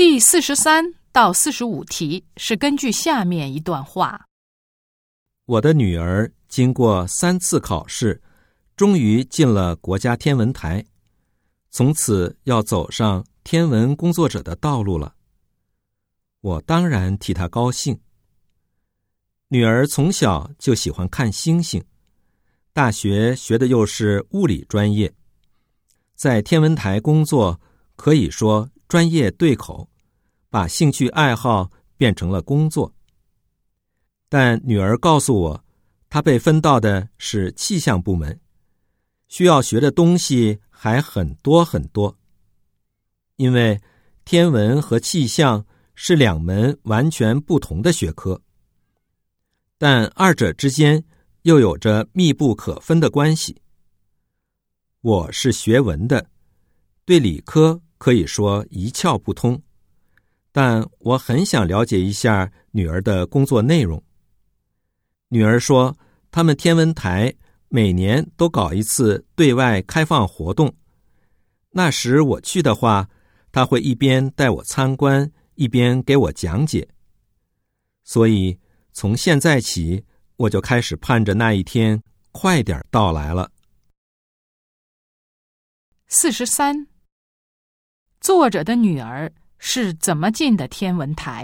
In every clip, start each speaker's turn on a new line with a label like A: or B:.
A: 第43到45题是根据下面一段话。
B: 我的女儿经过3次考试，终于进了国家天文台，从此要走上天文工作者的道路了。我当然替她高兴。女儿从小就喜欢看星星，大学学的又是物理专业，在天文台工作可以说专业对口，把兴趣爱好变成了工作。但女儿告诉我，她被分到的是气象部门，需要学的东西还很多很多。因为天文和气象是2门完全不同的学科，但二者之间又有着密不可分的关系。我是学文的，对理科可以说一窍不通，但我很想了解一下女儿的工作内容。女儿说，他们天文台每年都搞一次对外开放活动，那时我去的话，她会一边带我参观，一边给我讲解。所以从现在起，我就开始盼着那一天快点到来了。
A: 43，作者的女儿是怎么进的天文台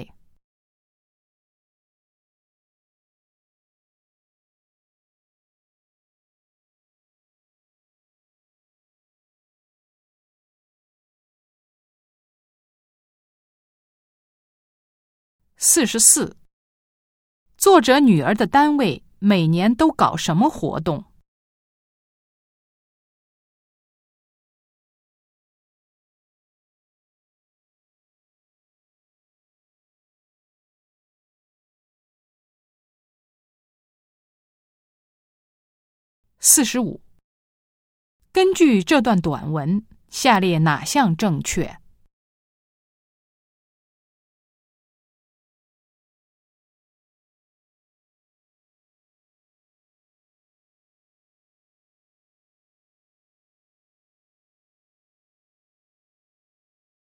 A: ？44，作者女儿的单位每年都搞什么活动？45，根据这段短文，下列哪项正确